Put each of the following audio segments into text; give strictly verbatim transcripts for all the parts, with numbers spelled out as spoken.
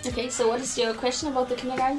Okay, so what is your question about the kindergarten?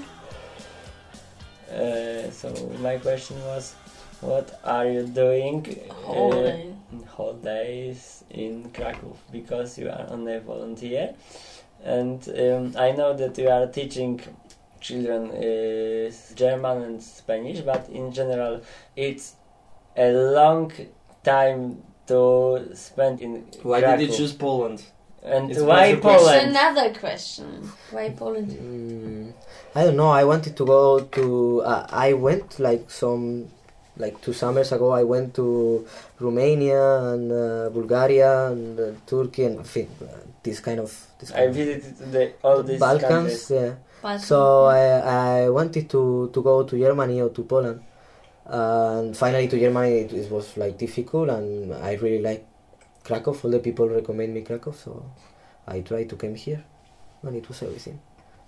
Uh, so my question was, what are you doing Holiday. uh, in holidays in Kraków? Because you are on a volunteer, and um, I know that you are teaching children uh, German and Spanish, but in general, it's a long time to spend in Why Kraków. did you choose Poland? And It's why quite a That's Poland? another question. Why Poland? Mm, I don't know. I wanted to go to. Uh, I went like some, like two summers ago. I went to Romania and uh, Bulgaria and uh, Turkey and uh, this kind of. This I kind of visited the, all these Balkans. countries. Yeah. Balkan, So yeah. I I wanted to to go to Germany or to Poland, uh, and finally to Germany it, it was like difficult, and I really like Krakow. All the people recommend me Krakow, so I tried to come here, and it was everything.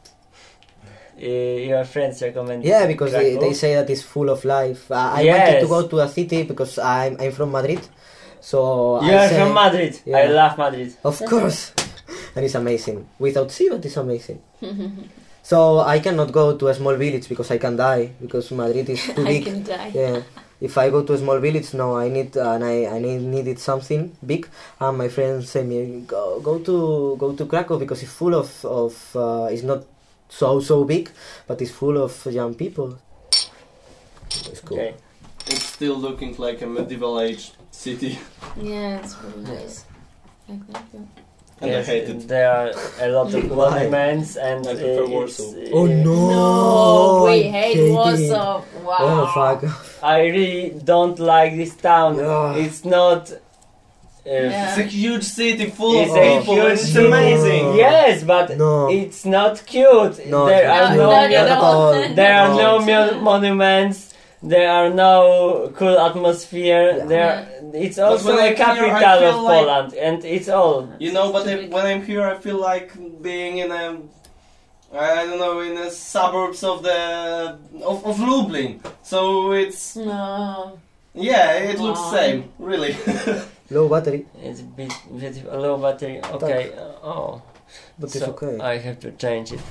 Uh, your friends recommend. Yeah, because they, Krakow? they say that it's full of life. Uh, I Yes. wanted to go to a city because I'm I'm from Madrid, so You I are say- from Madrid. I Yeah. love Madrid. Of course, and it's amazing. Without sea, but it's amazing. So I cannot go to a small village because I can die because Madrid is too I big. can die. Yeah. If I go to a small village, no, I need uh, and I I need, needed something big. And my friends say me go go to go to Krakow because it's full of of uh, it's not so so big, but it's full of young people. It's cool. Okay. It's still looking like a medieval age city. Yeah, it's really nice. Like that, yeah. And Yes, I hate it. There are a lot of Why? monuments and I prefer uh, Warsaw. it's, uh, Oh no! No, we I hate it. Warsaw. Wow. Oh fuck! I really don't like this town. Yeah. It's not. Uh, Yeah. It's a huge city full It's of a people. huge It's city. amazing. Yes, but No. it's not cute. No, there it's are No, no, no, no, not at all. there are No, no it's mo- monuments. There are no cool atmosphere. Yeah. There, it's also when a I'm here, I capital feel of like- Poland, and it's all. You know, but if, when I'm here, I feel like being in a, I don't know, in the suburbs of the of, of Lublin. So it's No. yeah, it looks Wow. same, really. Low battery, It's a bit, bit low battery. Okay. uh, oh. but so it's okay. I have to change it.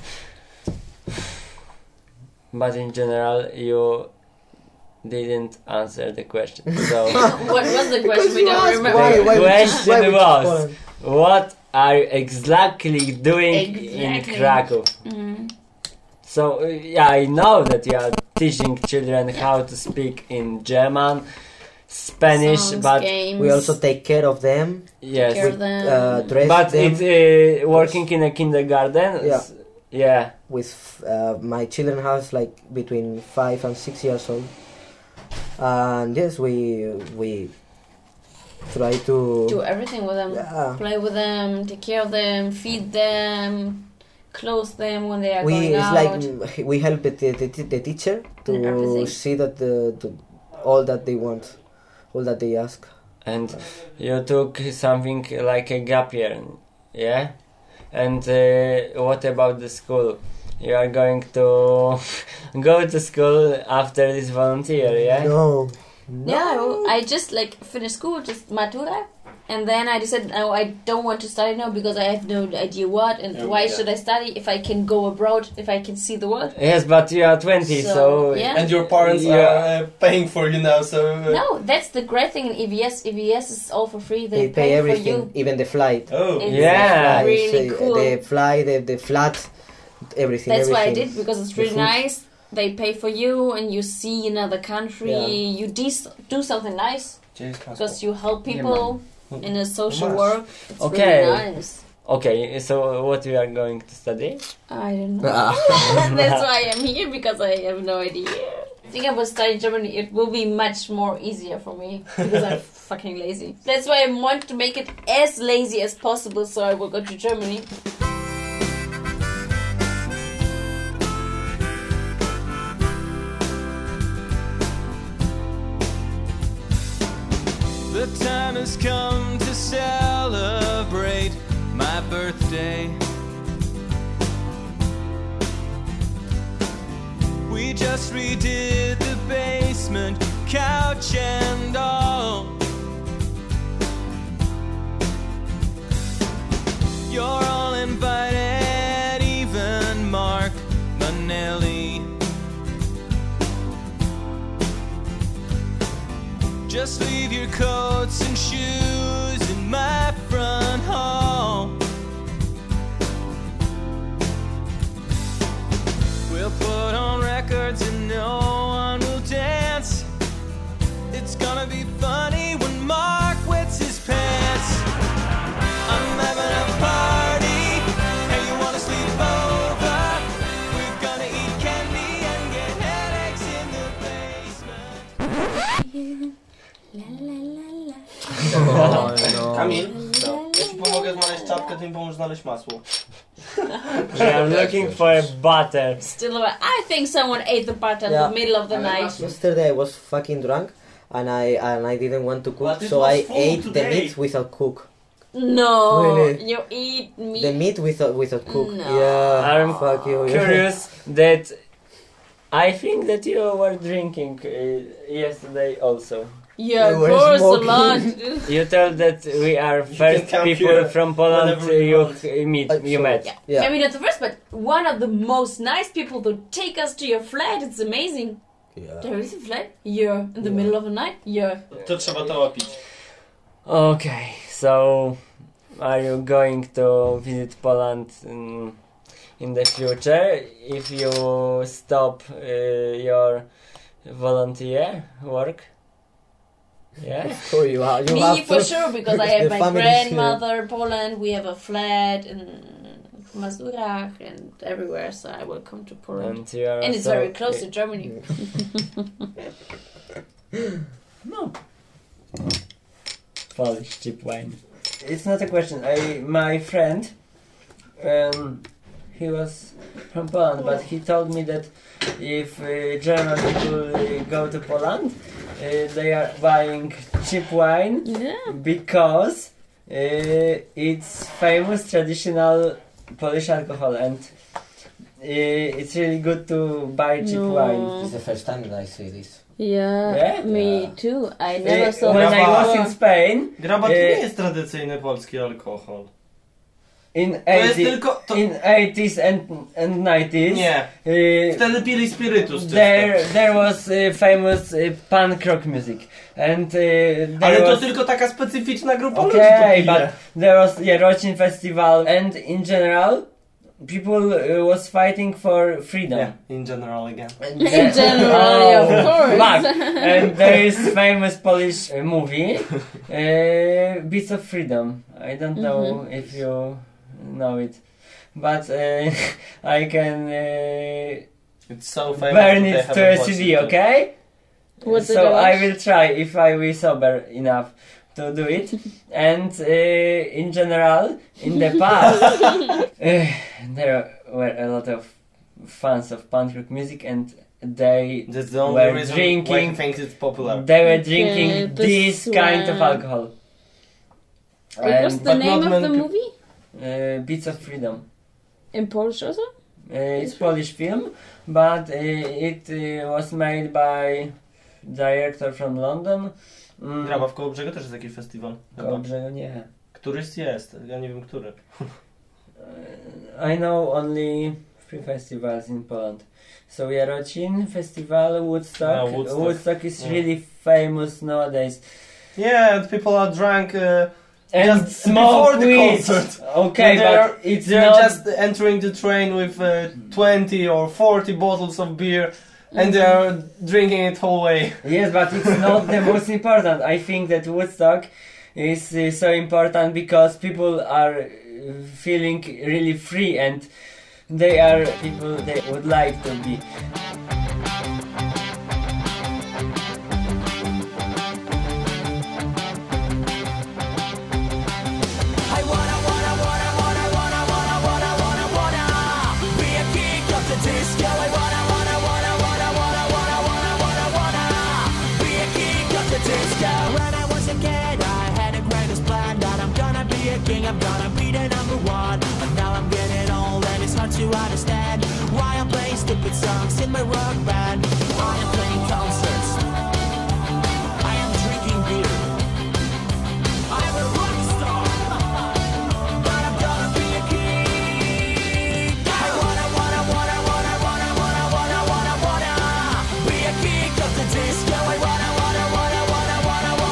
But in general, you didn't answer the question. So What was the question? We you don't asked remember. why- why the we choose- question why we choose was, Poland. what are you exactly doing in Exactly. Krakow? Mm. So uh, yeah, I know that you are teaching children how to speak in German, Spanish, Songs, but games, We also take care of them, yes, care of them. uh, dress but them it's uh, working in a kindergarten. Yeah. S- yeah. with. Uh, my children have like between five and six years old, and yes, we we try to do everything with them. yeah. Play with them, take care of them, feed them, clothe them when they are We going it's out. like mm, we help the, the, the, the teacher to Everything. see that the, the all that they want, all that they ask. And you took something like a gap year, yeah? And uh, what about the school? You are going to go to school after this volunteer, yeah? No. Yeah, I- I just like finished school, just matura, and then I decided, no, I don't want to study now because I have no idea what and Oh, why yeah. should I study if I can go abroad, if I can see the world. Yes, but you are twenty, so... So, yeah. And your parents Yeah. are uh, paying for you now, so uh, No, that's the great thing in E V S. E V S is all for free. They, They pay for everything, you. even the flight. Oh, It's Yeah. really Flights, uh, cool. The fly, the the flat, everything. That's why I everything. did because it's The really food. nice. They pay for you and you see another country. Yeah. You de- do something nice because you help people in a social Nice. work. It's Okay. really nice. Okay, so what you are going to study? I don't know. Ah. That's why I'm here because I have no idea. I think I will study Germany. It will be much more easier for me because I'm fucking lazy. That's why I want to make it as lazy as possible. So I will go to Germany. The time has come to celebrate my birthday. We just redid the basement, couch and all. You're all invited, even Just leave your coats and shoes in my front hall. We'll put on records and no one will dance. It's gonna be funny when Mark wets his pants. I'm having a party. Hey, you wanna sleep over? We're gonna eat candy and get headaches in the basement. Oh, no. Kamil, ja ci pomogę znaleźć czapkę, ty mi pomóż znaleźć masło. I'm looking for a butter. Still, I think someone ate the butter Yeah. in the middle of the night. Yesterday I was fucking drunk and I and I didn't want to cook, But it so was I food ate today. the meat without cook. No, Really? you eat meat. The meat without without cook. No. Yeah, I'm fuck you. yeah. Curious that I think that you were drinking uh, yesterday also. Yeah, We of were course, a smoking. lot. You told that we are first come people here from Poland whenever uh, you you want. uh, meet, Uh, you so- met. Yeah. Yeah. Maybe not the first, but one of the most nice people to take us to your flat. It's amazing. Yeah. There is a flat? Yeah. In the Yeah. middle of the night? Yeah. To trzeba to łapić. Okay, so are you going to visit Poland in, in the future if you stop uh, your volunteer work? Yeah. So you have you Me have for to- sure, because I the have my family is here. grandmother in Poland. We have a flat in Mazurach and everywhere, so I will come to Poland. And you are And it's also- very close to Germany. No. Polish cheap wine. It's not a question. I my friend, um, he was from Poland, but he told me that if uh, German people uh, go to Poland, uh, they are buying cheap wine Yeah. because uh, it's famous traditional Polish alcohol, and uh, it's really good to buy cheap No. wine. It's the first time that I see this. Yeah, Yeah? me Yeah. too. I never Uh, saw when this I was before. in Spain, Graba to E, nie jest tradycyjny polski alkohol. in To jest eighties, tylko... To... in eighties and and nineties, Nie. uh, Wtedy pili spirytus czysto. there there was uh, famous uh, punk rock music, and uh, there Ale to was tylko taka specyficzna grupa ludzi okay, to but pije. there was yeah, Rocin Festival, and in general, people uh, was fighting for freedom. Yeah, in general again. And In the- general, Oh, of course. fuck. And there is famous Polish uh, movie, uh, Beats of Freedom. I don't know Mhm. if you know it, but uh, I can uh, It's so famous burn that they it to haven't a C watched D, it. okay? What's it so about? I will try if I will sober enough to do it. And uh, in general, in the past, uh, there were a lot of fans of punk rock music, and they That's the only were reason why drinking. he thinks it's popular. They were Okay, drinking this this kind of one. alcohol. What was And, the but name not of the many movie? uh, Beats of Freedom. In Polish also? Uh, it's Polish film, but uh, it uh, was made by director from London. Mm, Graba w Kołobrzegu też jest jakiś festiwal. chyba. Kołobrzegu nie. Któryś jest, ja nie wiem który. Uh, I know only three festivals in Poland. So Jarocin Festival, Woodstock. Ah, Woodstock. Woodstock is Yeah. really famous nowadays. Yeah, and people are drunk uh, And Just smoke before the weed. concert. Okay, They're- but it's they're not just entering the train with uh, twenty or forty bottles of beer and they are drinking it whole way. Yes, but it's not the most important. I think that Woodstock is uh, so important because people are uh, feeling really free, and they are people they would like to be. I wanna, wanna, wanna, wanna, wanna, wanna, wanna, wanna, wanna be a king of the disco. I wanna, wanna, wanna, wanna, wanna, wanna, wanna, wanna, wanna be a king of the disco. When I was a kid, I had a greatest plan that I'm gonna be a king. I'm gonna be the number one. But now I'm getting old and it's hard to understand why I'm playing stupid songs in my rock band. I am playing concerts. I am drinking beer. I'm a rock star. But I'm gonna be a king. I wanna, wanna, wanna, wanna, wanna, wanna, wanna, wanna, wanna be a king of the disco. I wanna, wanna, wanna, wanna, wanna,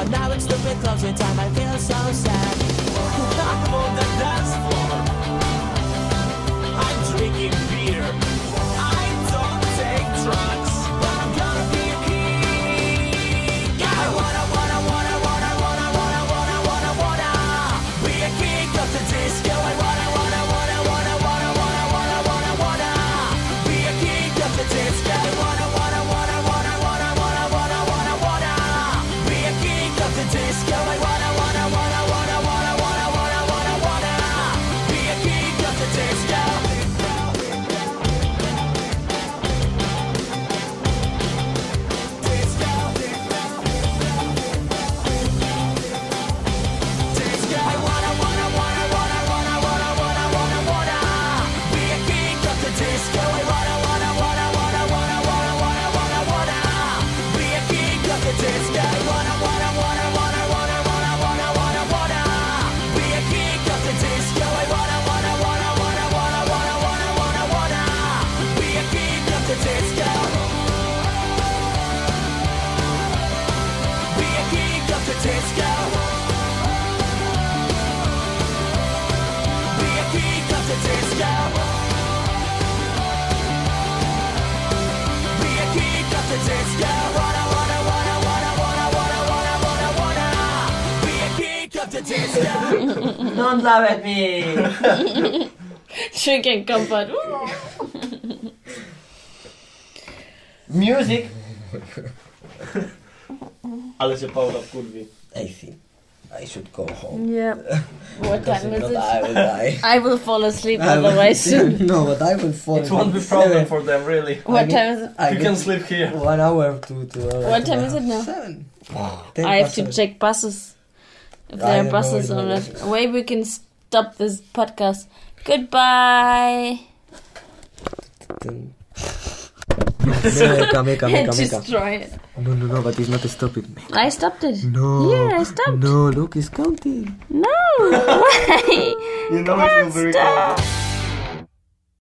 But now it's stupid closing time, I feel so sad. I'm on the dance floor, I'm drinking beer, I don't take drugs, but I'm gonna be a king. I wanna, wanna, wanna, wanna, wanna, wanna, wanna, wanna, wanna be a king of the disco. I wanna, wanna, wanna, wanna, wanna, wanna, wanna, wanna, wanna be a king of the disco. I wanna, wanna, wanna, wanna, wanna, wanna, wanna, wanna, wanna be a king of the disco. I wanna, wanna, wanna, wanna, wanna, wanna, wanna, wanna, wanna be a king of the disco. Don't laugh at me! Drinking comfort. Music! Ale się Paula wkurwi. I think I should go home. Yeah. What Because time if is not, it? I will die. I will fall asleep I will- otherwise soon. No, but I will fall It won't be asleep problem seven. for them, really. What I time is it? I You get can sleep here. one hour to to. Uh, What to time my is it now? house. Seven. Ten I have past to seven. check buses. If I there are don't know buses if or there not. is. Maybe we can stop this podcast. Goodbye. Meka, meka, And meka, meka. destroy it. No, no, no, but it's not stopping. I stopped it. No. Yeah, I stopped. No, look, it's counting. No. Why? You know Come it on, will be stop. recorded.